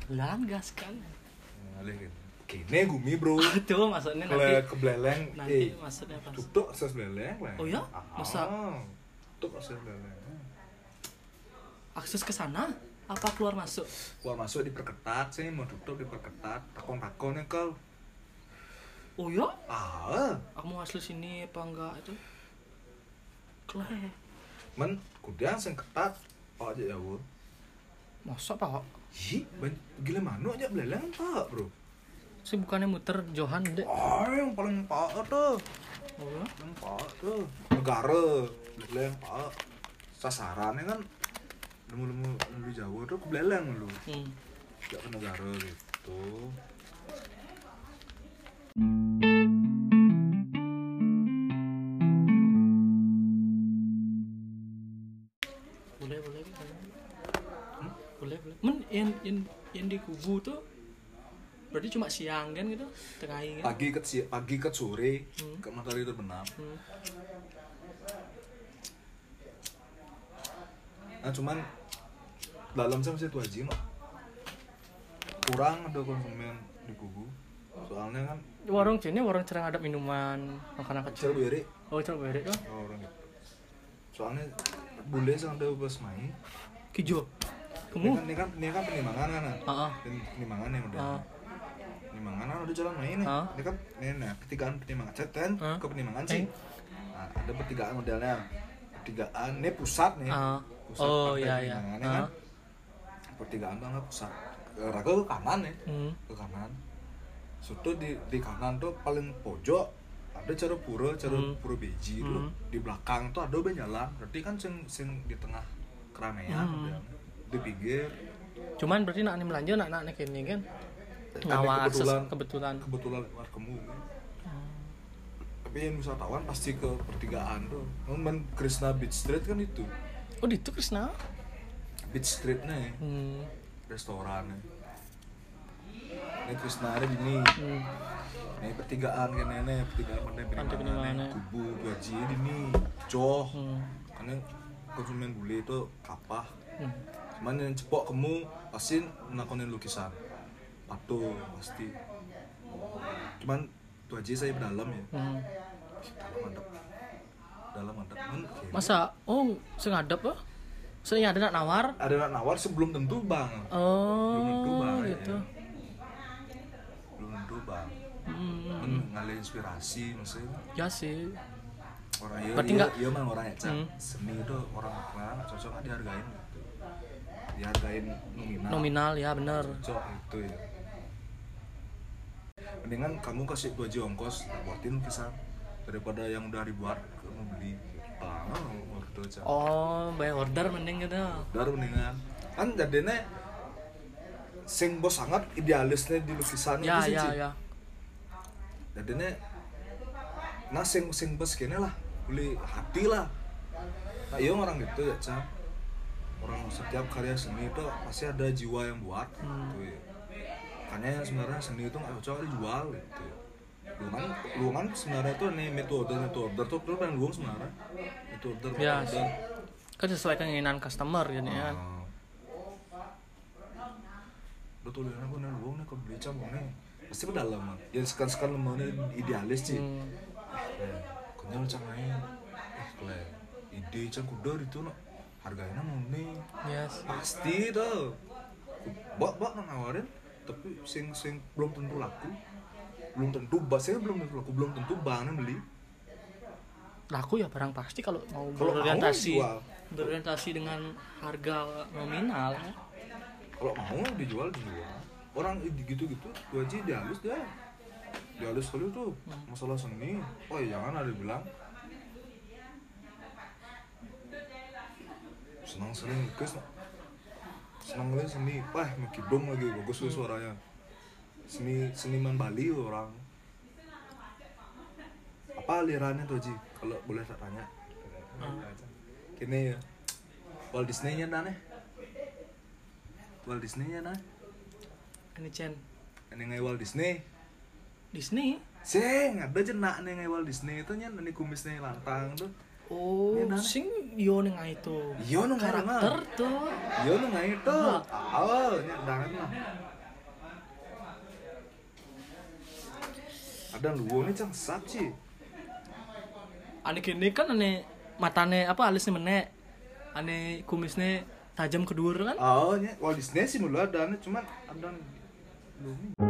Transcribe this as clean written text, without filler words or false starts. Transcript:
Lan gas kan. Ngalih gitu. Kene gumi bro. Tuh maksudnya nanti Kebeleleng. maksudnya apa? Tutuk akses beleleng lah. Oh ya? Masa tutuk akses beleleng. akses ke sana apa keluar masuk? Keluar masuk diperketat sih, mau tutup diperketat. Takon-takonnya kau. Oh ya? Aku mau asli sini apa enggak itu? Kleh. Men kudian sing ketat. Pak aja ya, Bu. Masa Pak? Ih, gila mano aja beleleng Pak, Bro. Sih bukannya muter Johan deh. Yang paling Pak tuh. Oh ya? Yang Pak tuh. Negara beleleng Pak. Sasarannya kan lemu-lemu di Jawa tuh beleleng lu. Gak ke negara gitu. Boleh. Men yang di kubu tuh berarti cuma siang kan gitu, tengah kan? Pagi ke sore ke matahari terbenam. Nah cuman dalam sama situ aja mah kurang ada konsumen di kubu. Soalnya kan warung cerang ada minuman, makanan kecil. Cerberi. Oh, cerberi kan? Oh, orang gitu. Soalnya bule sama ada pas main. Kijo. Kamu? Ini kan penimbangan kan? Penimbangan yang udah. Penimbangan kan udah jalan main nih. Ini kan ketigaan penimbangan ceten ke penimbangan sih. Nah, ada pertigaan modelnya. Pertigaan ini pusat nih. Pusat penimbangannya kan. Pertigaan tuh nggak pusat. Raga ke kanan ya. Ke kanan. Suatu di kanan tuh paling pojok ada cara pura beji tuh. Di belakang tuh ada jalan. Berarti kan sing di tengah keramaian di pinggir. Cuman berarti nak belanja nak ini kan ngawal akses kebetulan kamu kan. Tapi yang wisatawan pasti ke pertigaan tuh. Men Krishna Beach Street kan itu. Oh itu Krishna Beach Street nih. Restorannya. Ini Krishna ada di sini. Ini pertigaan kan pertigaan mana kubu gaji di sini. Joh. Karena konsumen bule itu kapah. Cuman yang cepok kamu pasti nakonin lukisan. Patung pasti. Cuman itu aja saya dalam ya. Dalam mantap. Masa sengadap ah? Saya ada nak nawar? Ada nak nawar sebelum tentu bang. Belum tentu bang. Gitu. Ya. Belum tentu bang. Ngalih inspirasi maksudnya. Ya sih. Orang iya mah orang ya seni itu orang nggak cocok dihargain gitu. Dihargain nominal ya benar. Cocok itu ya. Mendingan kamu kasih 2 aja ongkos buatin lukisan daripada yang udah dibuat kamu beli. Waktu aja. Bayar order mending gitu. Order mendingan. Kan jadinya sing bos sangat idealisnya di lukisan itu sih. Ya. Jadinya sing bos kene lah. Beli hati lah. Nah iya orang gitu ya Cang. Orang setiap karya seni itu pasti ada jiwa yang buat gitu ya. Makanya sebenarnya seni itu nggak cocok dijual gitu ya. Lu kan sebenarnya tuh nih metode tuh pengen luang sebenarnya metode ya kan sesuai keinginan customer gitu ya. Udah tuh lihat aku nih luang nih kalau beli cabang nih pasti pedalam ya sekarang lemahnya idealis sih. Kenyal cangain ide cang kuda itu no harganya mau nih pasti tuh bak nawarin tapi sing belum tentu laku belum tentu belum tentu bangnya beli laku ya barang pasti kalau mau berorientasi dengan harga nominal ya. Kalau mau dijual orang gitu itu aja dihalus deh dihalus kali tuh masalah seni jangan ada bilang senang sering lukis senang lihat seni mekidong lagi bagus suaranya seniman Bali orang apa alirannya tuh Ji kalau boleh tak tanya kini ya Walt Disney-nya nih Walt Disney-nya ini Chen ini ngai Walt Disney sing ada jenak nih ngai Walt Disney itu nya ini kumisnya lantang tuh sing yo ning itu. Yo nang karakter tuh. Yo nang itu. Nya dangan mah. Ada luwo nih cang saci. Ane gini kan ane matane apa alisnya menek. Ane kumisnya tajam ke dhuwur kan? Oh nya Walt Disney sih mulu ada cuman ada